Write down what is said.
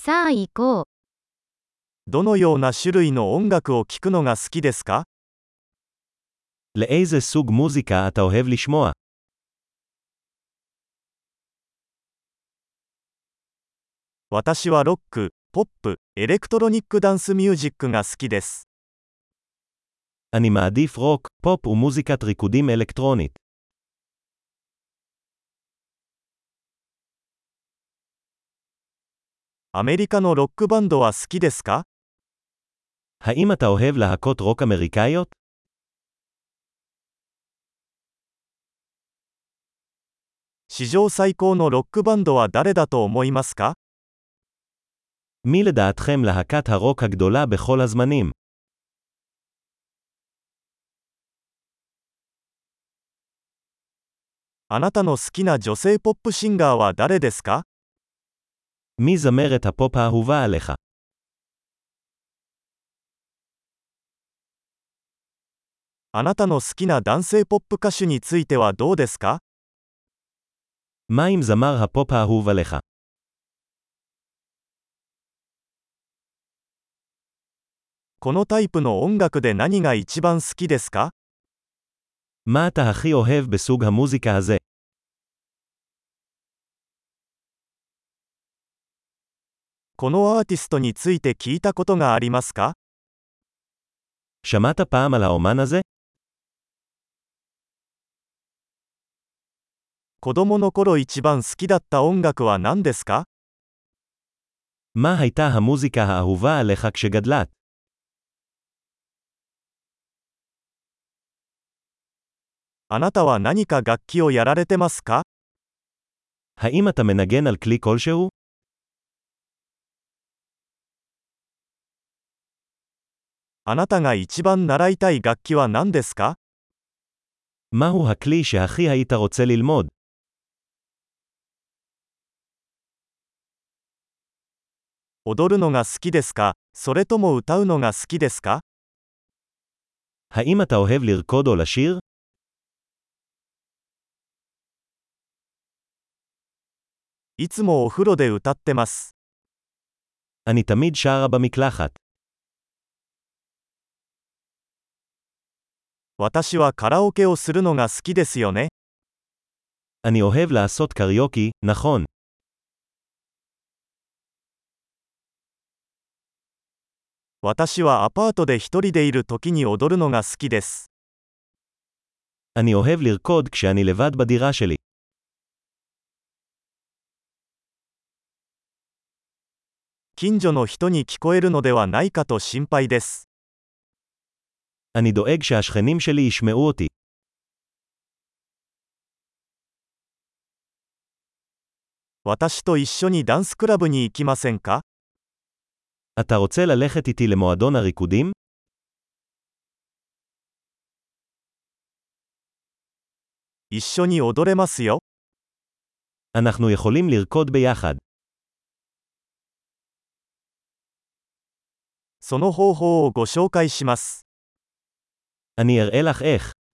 さあ行こう。 どのような種類の音楽を聴くのが好きですか？ לאיזה סוג מוזיקה אתה אוהב לשמוע? 私はロック、ポップ、エレクトロニックダンスミュージックが好きです。 אני מעדיף רוק, פופ ומוזיקת ריקודים אלקטרונית. アメリカのロックバンドは好きですか？ האם אתה אוהב להקות רוק אמריקאיות? 史上最高のロックバンドは誰だと思いますか？ מי לדעתכם להקת הרוק הגדולה בכל הזמנים? あなたの好きな女性ポップシンガーは誰ですか？ מי זמרת הפופ האהובה עליך? あなたの好きな男性ポップ歌手についてはどうですか？ מה עם זמר הפופ האהוב עליך? このタイプの音楽で何が一番好きですか？ מה אתה הכי אוהב בסוג המוזיקה הזה? このアーティストについて聞いたことがありますか？ שמעת פעם על האומן הזה? 子供の頃一番好きだった音楽は何ですか？ מה הייתה המוזיקה האהובה עליך כשגדלת? あなたは何か楽器をやられてますか？ האם אתה מנגן על כלי כלשהו? あなたが一番習いたい楽器は何ですか？ מהו הכלי שהכי היית רוצה ללמוד? 踊るのが好きですか？それとも歌うのが好きですか？ האם אתה אוהב לרקוד או לשיר? いつもお風呂で歌ってます。 אני תמיד שרה במקלחת. 私はカラオケをするのが好きですよね。 אני אוהב לעשות קריוקי, נכון. 私はアパートで一人でいる時に踊るのが好きです。 אני אוהב לרקוד כשאני לבד בדירה שלי. 近所の人に聞こえるのではないかと心配です。 אני דואג שהשכנים שלי ישמעו אותי. 私と一緒にダンスクラブに行きませんか？ אתה רוצה ללכת איתי למועדון הריקודים? 一緒に踊れますよ。 אנחנו יכולים לרקוד ביחד. その方法をご紹介します。 אני אראה לך איך.